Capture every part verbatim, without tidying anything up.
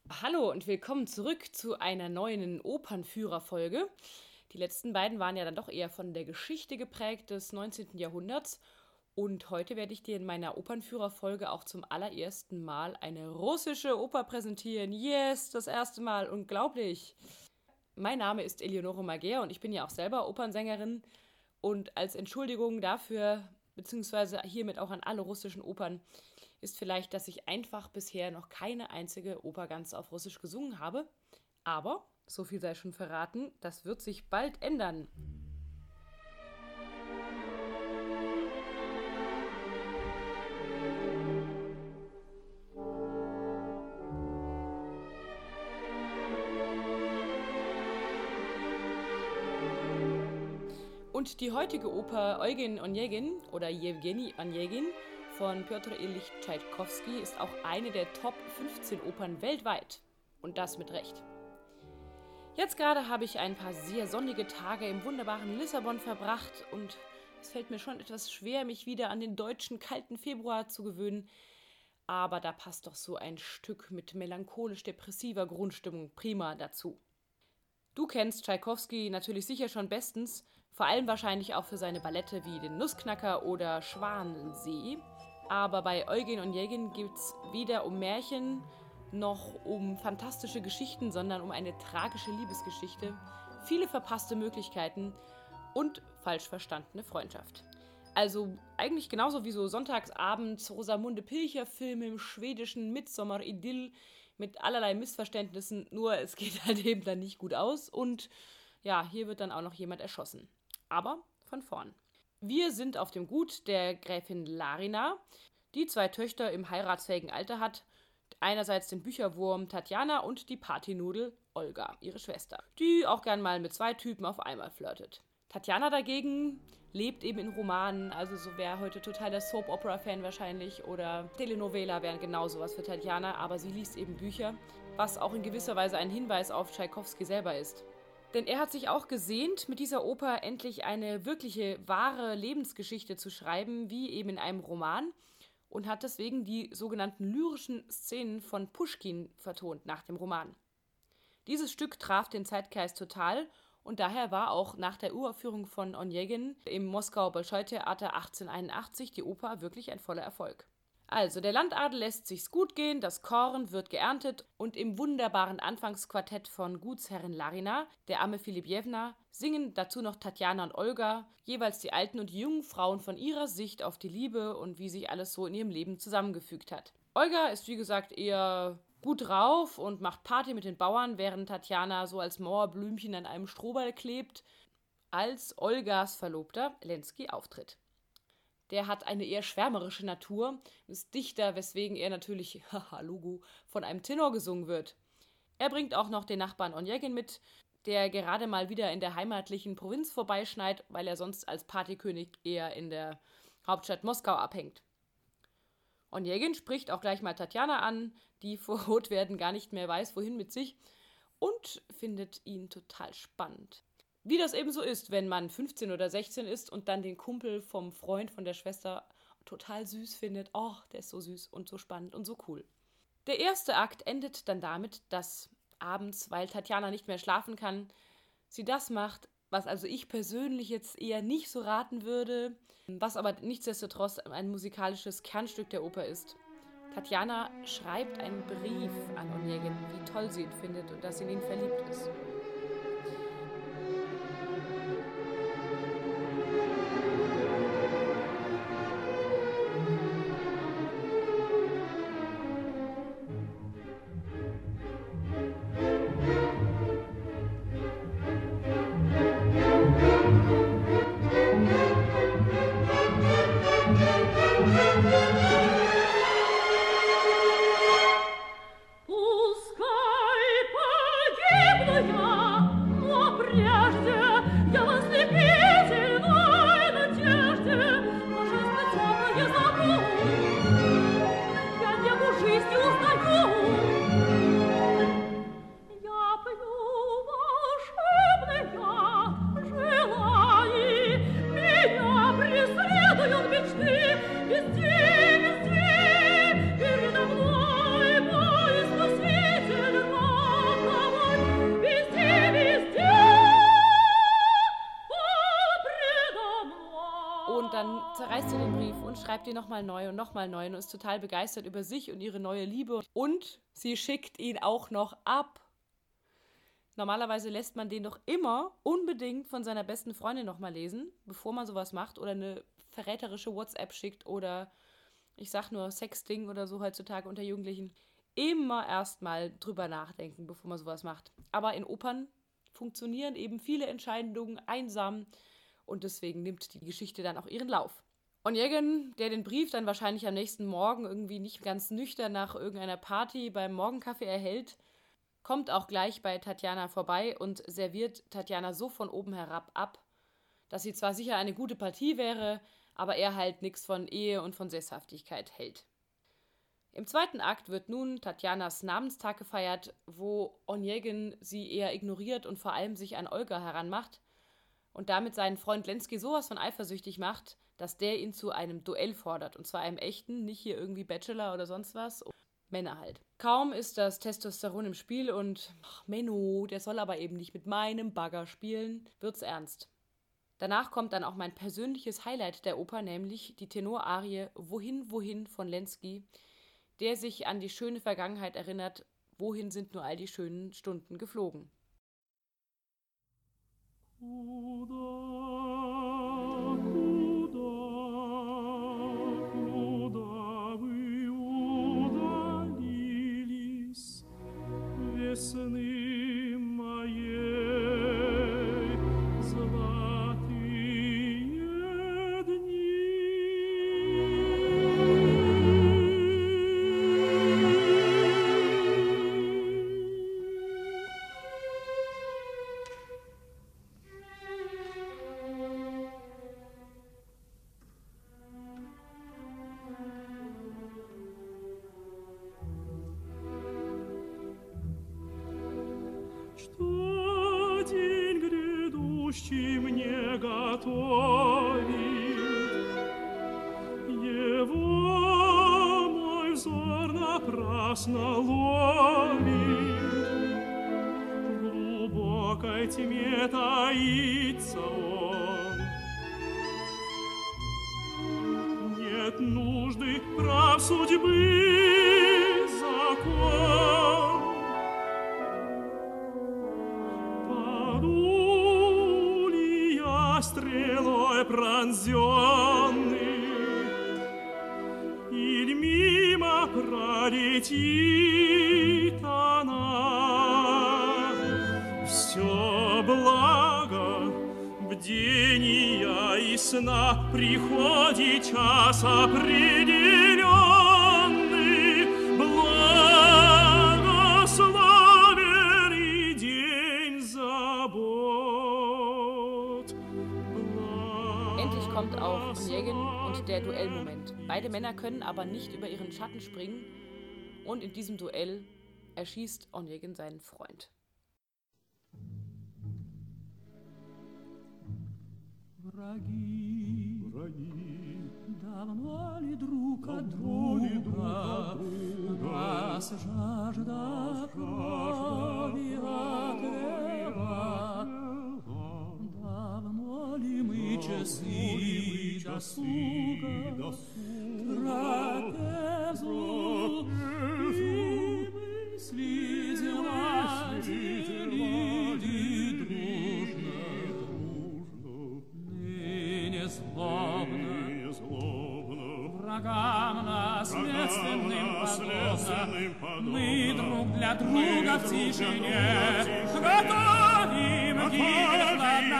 Hallo und willkommen zurück zu einer neuen Opernführer-Folge. Die letzten beiden waren ja dann doch eher von der Geschichte geprägt des neunzehnten. Jahrhunderts. Und heute werde ich dir in meiner Opernführer-Folge auch zum allerersten Mal eine russische Oper präsentieren. Yes, das erste Mal, unglaublich! Mein Name ist Eleonore Mager und ich bin ja auch selber Opernsängerin. Und als Entschuldigung dafür, beziehungsweise hiermit auch an alle russischen Opern, ist vielleicht, dass ich einfach bisher noch keine einzige Oper ganz auf Russisch gesungen habe. Aber, so viel sei schon verraten, das wird sich bald ändern. Und die heutige Oper Eugen Onegin oder Jewgeni Onegin von Pjotr Ilyich Tschaikowski ist auch eine der Top fünfzehn Opern weltweit. Und das mit Recht. Jetzt gerade habe ich ein paar sehr sonnige Tage im wunderbaren Lissabon verbracht und es fällt mir schon etwas schwer, mich wieder an den deutschen kalten Februar zu gewöhnen. Aber da passt doch so ein Stück mit melancholisch-depressiver Grundstimmung prima dazu. Du kennst Tschaikowski natürlich sicher schon bestens, vor allem wahrscheinlich auch für seine Ballette wie den Nussknacker oder Schwanensee. Aber bei Eugen Onegin geht es weder um Märchen noch um fantastische Geschichten, sondern um eine tragische Liebesgeschichte, viele verpasste Möglichkeiten und falsch verstandene Freundschaft. Also eigentlich genauso wie so Sonntagsabends Rosamunde Pilcher-Filme im schwedischen Midsommar-Idyll mit allerlei Missverständnissen, nur es geht halt eben dann nicht gut aus und ja, hier wird dann auch noch jemand erschossen. Aber von vorn. Wir sind auf dem Gut der Gräfin Larina, die zwei Töchter im heiratsfähigen Alter hat. Einerseits den Bücherwurm Tatjana und die Partynudel Olga, ihre Schwester, die auch gern mal mit zwei Typen auf einmal flirtet. Tatjana dagegen lebt eben in Romanen, also so wäre heute total der Soap-Opera-Fan wahrscheinlich oder Telenovela wären genau sowas für Tatjana, aber sie liest eben Bücher, was auch in gewisser Weise ein Hinweis auf Tschaikowski selber ist. Denn er hat sich auch gesehnt, mit dieser Oper endlich eine wirkliche, wahre Lebensgeschichte zu schreiben, wie eben in einem Roman, und hat deswegen die sogenannten lyrischen Szenen von Puschkin vertont nach dem Roman. Dieses Stück traf den Zeitgeist total und daher war auch nach der Uraufführung von Onegin im Moskauer Bolschoi-Theater achtzehnhunderteinundachtzig die Oper wirklich ein voller Erfolg. Also, der Landadel lässt sich's gut gehen, das Korn wird geerntet und im wunderbaren Anfangsquartett von Gutsherrin Larina, der Amme Filipjewna, singen dazu noch Tatjana und Olga, jeweils die alten und die jungen Frauen von ihrer Sicht auf die Liebe und wie sich alles so in ihrem Leben zusammengefügt hat. Olga ist wie gesagt eher gut drauf und macht Party mit den Bauern, während Tatjana so als Mauerblümchen an einem Strohball klebt, als Olgas Verlobter Lenski auftritt. Der hat eine eher schwärmerische Natur, ist Dichter, weswegen er natürlich, haha, Logo, von einem Tenor gesungen wird. Er bringt auch noch den Nachbarn Onegin mit, der gerade mal wieder in der heimatlichen Provinz vorbeischneit, weil er sonst als Partykönig eher in der Hauptstadt Moskau abhängt. Onegin spricht auch gleich mal Tatjana an, die vor Rotwerden gar nicht mehr weiß, wohin mit sich, und findet ihn total spannend. Wie das eben so ist, wenn man fünfzehn oder sechzehn ist und dann den Kumpel vom Freund von der Schwester total süß findet. Oh, der ist so süß und so spannend und so cool. Der erste Akt endet dann damit, dass abends, weil Tatjana nicht mehr schlafen kann, sie das macht, was also ich persönlich jetzt eher nicht so raten würde, was aber nichtsdestotrotz ein musikalisches Kernstück der Oper ist. Tatjana schreibt einen Brief an Onegin, wie toll sie ihn findet und dass sie in ihn verliebt ist. Пускай погибну я und schreibt ihn nochmal neu und nochmal neu und ist total begeistert über sich und ihre neue Liebe. Und sie schickt ihn auch noch ab. Normalerweise lässt man den doch immer unbedingt von seiner besten Freundin nochmal lesen, bevor man sowas macht oder eine verräterische WhatsApp schickt oder, ich sag nur, Sexting oder so heutzutage unter Jugendlichen. Immer erstmal drüber nachdenken, bevor man sowas macht. Aber in Opern funktionieren eben viele Entscheidungen einsam und deswegen nimmt die Geschichte dann auch ihren Lauf. Onegin, der den Brief dann wahrscheinlich am nächsten Morgen irgendwie nicht ganz nüchtern nach irgendeiner Party beim Morgenkaffee erhält, kommt auch gleich bei Tatjana vorbei und serviert Tatjana so von oben herab ab, dass sie zwar sicher eine gute Partie wäre, aber er halt nichts von Ehe und von Sesshaftigkeit hält. Im zweiten Akt wird nun Tatjanas Namenstag gefeiert, wo Onegin sie eher ignoriert und vor allem sich an Olga heranmacht und damit seinen Freund Lenski sowas von eifersüchtig macht, dass der ihn zu einem Duell fordert. Und zwar einem echten, nicht hier irgendwie Bachelor oder sonst was. Männer halt. Kaum ist das Testosteron im Spiel und ach, Menno, der soll aber eben nicht mit meinem Bagger spielen, wird's ernst. Danach kommt dann auch mein persönliches Highlight der Oper, nämlich die Tenorarie Wohin, wohin von Lenski, der sich an die schöne Vergangenheit erinnert, wohin sind nur all die schönen Stunden geflogen. Весны моей золотые дни. Что день грядущий мне готовит, его мой взор напрасно ловит. В глубокой тьме таится он. Нет нужды прав судьбы закон. Паду ли я стрелой пронзенный, или мимо пролетит она? Все благо бдения и сна приходит час определенный, благословен и день забот. Endlich kommt auch Onegin und der Duellmoment. Beide Männer können aber nicht über ihren Schatten springen und in diesem Duell erschießt Onegin seinen Freund. Враги, враги, давно ли друг от друга нас жажда крови отвела? Давно ли мы часы досуга трапезу и мысли дела делили дружно? Ныне злобно врагам наследственным подобно мы друг для друга в тишине готовим гибель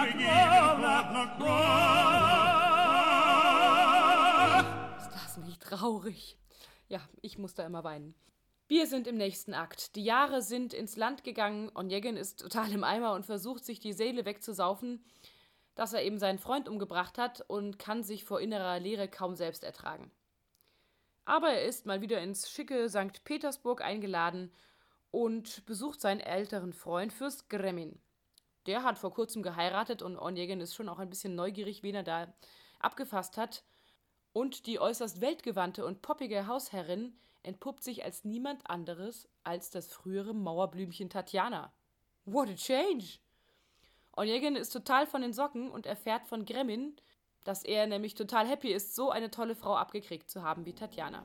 хладнокровно. Ist das nicht traurig? Ja, ich muss da immer weinen. Wir sind im nächsten Akt. Die Jahre sind ins Land gegangen. Onegin ist total im Eimer und versucht, sich die Seele wegzusaufen, dass er eben seinen Freund umgebracht hat und kann sich vor innerer Leere kaum selbst ertragen. Aber er ist mal wieder ins schicke Sankt Petersburg eingeladen und besucht seinen älteren Freund Fürst Gremin. Der hat vor kurzem geheiratet und Onegin ist schon auch ein bisschen neugierig, wen er da abgefasst hat. Und die äußerst weltgewandte und poppige Hausherrin entpuppt sich als niemand anderes als das frühere Mauerblümchen Tatjana. What a change! Onegin ist total von den Socken und erfährt von Gremin, dass er nämlich total happy ist, so eine tolle Frau abgekriegt zu haben wie Tatjana.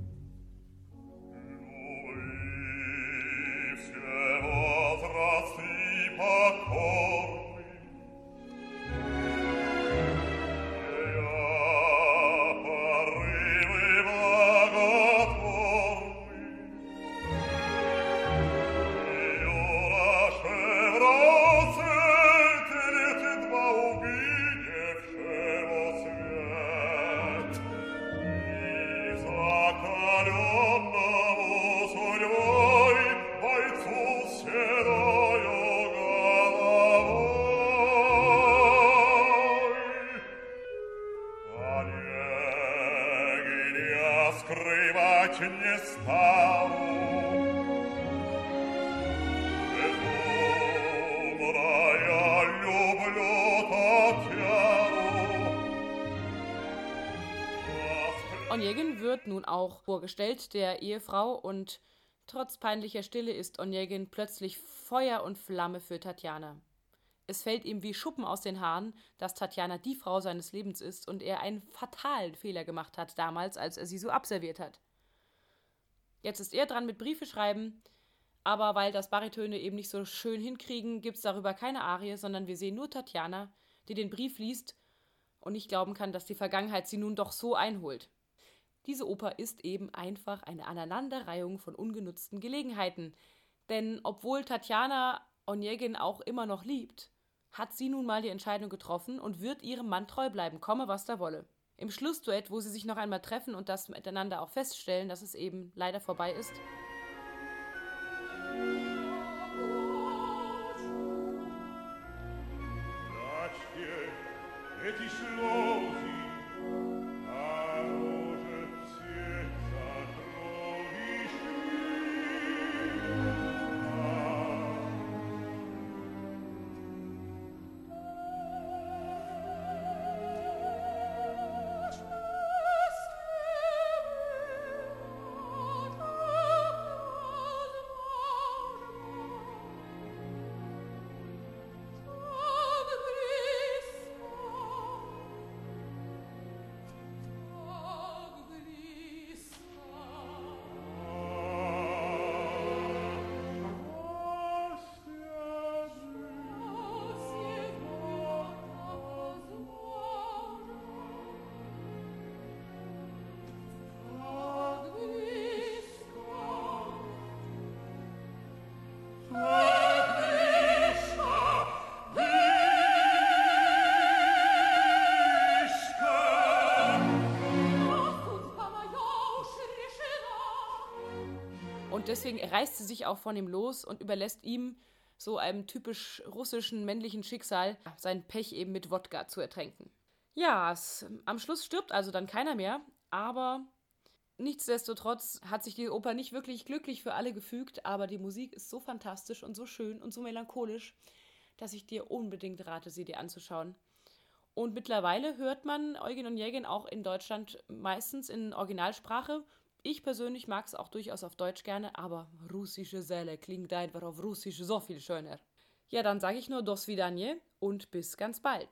Onegin wird nun auch vorgestellt, der Ehefrau, und trotz peinlicher Stille ist Onegin plötzlich Feuer und Flamme für Tatjana. Es fällt ihm wie Schuppen aus den Haaren, dass Tatjana die Frau seines Lebens ist und er einen fatalen Fehler gemacht hat damals, als er sie so abserviert hat. Jetzt ist er dran mit Briefe schreiben, aber weil das Baritöne eben nicht so schön hinkriegen, gibt es darüber keine Arie, sondern wir sehen nur Tatjana, die den Brief liest und nicht glauben kann, dass die Vergangenheit sie nun doch so einholt. Diese Oper ist eben einfach eine Aneinanderreihung von ungenutzten Gelegenheiten. Denn obwohl Tatjana Onegin auch immer noch liebt, hat sie nun mal die Entscheidung getroffen und wird ihrem Mann treu bleiben, komme was da wolle. Im Schlussduett, wo sie sich noch einmal treffen und das miteinander auch feststellen, dass es eben leider vorbei ist, und deswegen reißt sie sich auch von ihm los und überlässt ihm, so einem typisch russischen männlichen Schicksal, sein Pech eben mit Wodka zu ertränken. Ja, es, am Schluss stirbt also dann keiner mehr, aber nichtsdestotrotz hat sich die Oper nicht wirklich glücklich für alle gefügt, aber die Musik ist so fantastisch und so schön und so melancholisch, dass ich dir unbedingt rate, sie dir anzuschauen. Und mittlerweile hört man Eugen Onegin auch in Deutschland meistens in Originalsprache. Ich persönlich mag es auch durchaus auf Deutsch gerne, aber russische Säle klingt einfach auf Russisch so viel schöner. Ja, dann sage ich nur do svidanje und bis ganz bald.